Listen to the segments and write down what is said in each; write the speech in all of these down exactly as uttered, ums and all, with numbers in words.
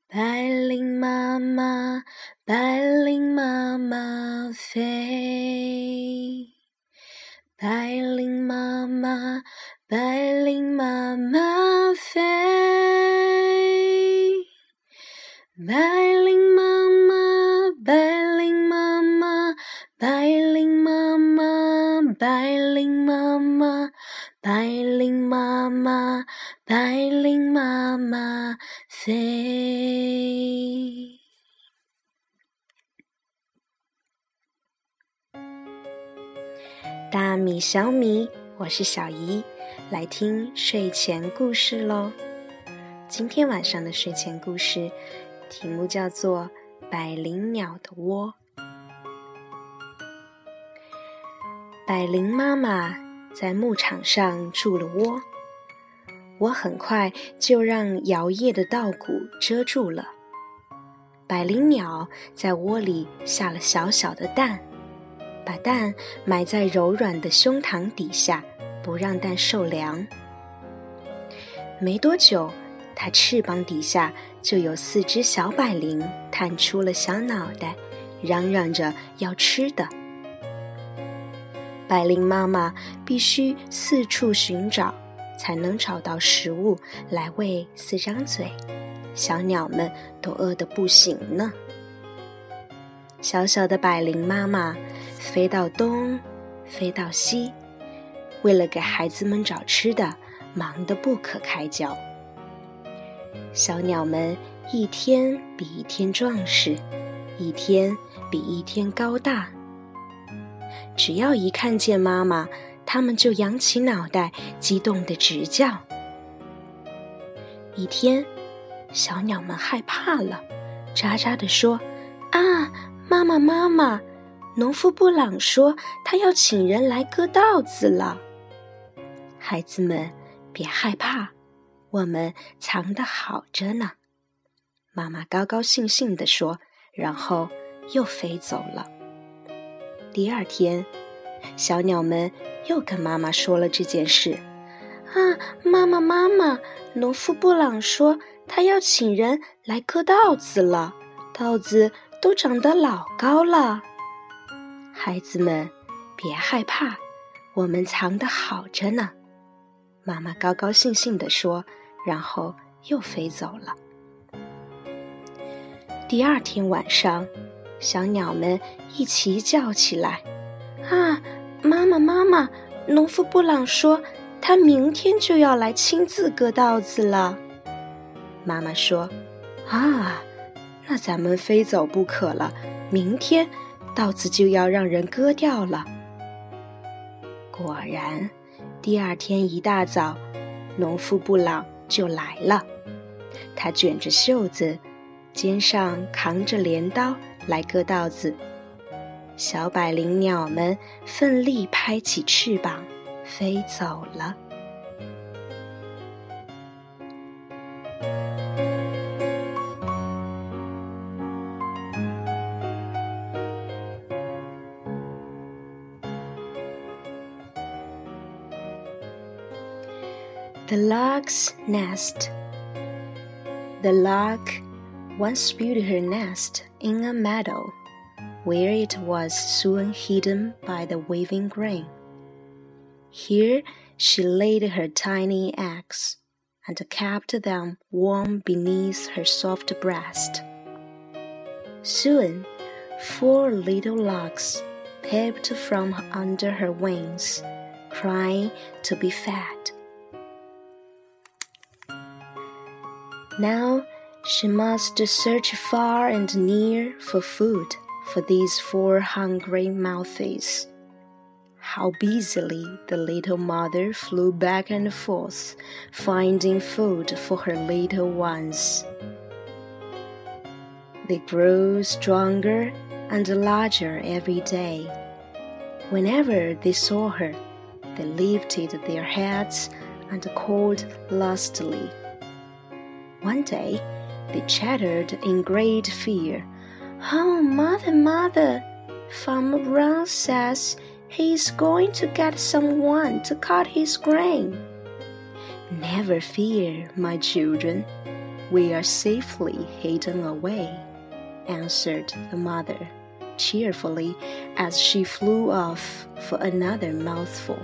白领妈妈，白领妈妈飞。白领妈妈，白领妈妈飞。白领妈妈，白领妈妈，白领妈妈，白领妈妈，白领妈妈，白领妈妈飞。大米小米，我是小姨，来听睡前故事咯。今天晚上的睡前故事题目叫做百灵鸟的窝。百灵妈妈在牧场上筑了窝，我很快就让摇曳的稻谷遮住了。百灵鸟在窝里下了小小的蛋，把蛋埋在柔软的胸膛底下，不让蛋受凉。没多久，它翅膀底下就有四只小百灵探出了小脑袋，嚷嚷着要吃的。百灵妈妈必须四处寻找，才能找到食物来喂四张嘴，小鸟们都饿得不行呢。小小的百灵妈妈飞到东，飞到西，为了给孩子们找吃的，忙得不可开交。小鸟们一天比一天壮实，一天比一天高大。只要一看见妈妈，它们就扬起脑袋，激动地直叫。一天，小鸟们害怕了，喳喳地说：啊，妈妈妈妈，农夫布朗说他要请人来割稻子了。孩子们别害怕，我们藏得好着呢，妈妈高高兴兴地说，然后又飞走了。第二天，小鸟们又跟妈妈说了这件事。啊，妈妈妈妈，农夫布朗说他要请人来割稻子了，稻子都长得老高了。孩子们别害怕，我们藏得好着呢，妈妈高高兴兴地说，然后又飞走了。第二天晚上，小鸟们一起叫起来。啊，妈妈妈妈，农夫布朗说他明天就要来亲自割稻子了。妈妈说，啊，那咱们非走不可了，明天稻子就要让人割掉了。果然，第二天一大早，农夫布朗就来了。他卷着袖子，肩上扛着镰刀来割稻子。小百灵鸟们奋力拍起翅膀，飞走了。The Lark's Nest. The lark once built her nest in a meadow, where it was soon hidden by the waving grain. Here she laid her tiny eggs, and kept them warm beneath her soft breast. Soon, four little larks peeped from under her wings, crying to be fed. Now she must search far and near for food for these four hungry mouths. How busily the little mother flew back and forth, finding food for her little ones. They grew stronger and larger every day. Whenever they saw her, they lifted their heads and called lustily. One day, they chattered in great fear. Oh, mother, mother, Farmer Brown says he's going to get someone to cut his grain. Never fear, my children. we are safely hidden away, answered the mother, cheerfully as she flew off for another mouthful.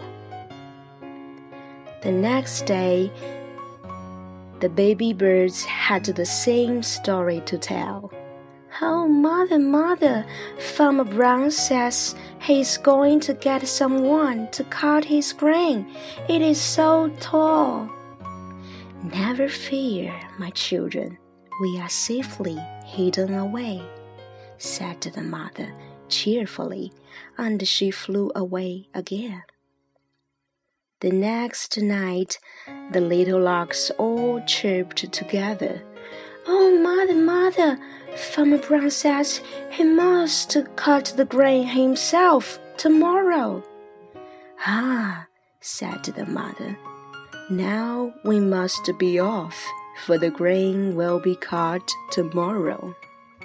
The next day, the baby birds had the same story to tell. Oh, mother, mother, Farmer Brown says he's going to get someone to cut his grain. It is so tall. Never fear, my children, we are safely hidden away, said the mother cheerfully, and she flew away again. The next night, the little larks all chirped together. Oh, mother, mother, Farmer Brown says he must cut the grain himself tomorrow. Ah, said the mother, now we must be off, for the grain will be cut tomorrow.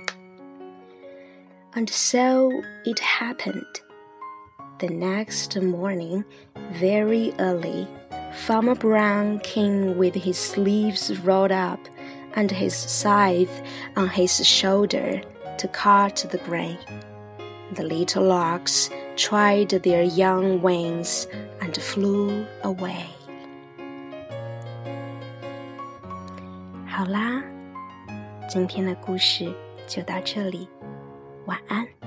And so it happened. The next morning, very early, Farmer Brown came with his sleeves rolled up and his scythe on his shoulder to cut the grain. The little larks tried their young wings and flew away. 好啦，今天的故事就到这里，晚安。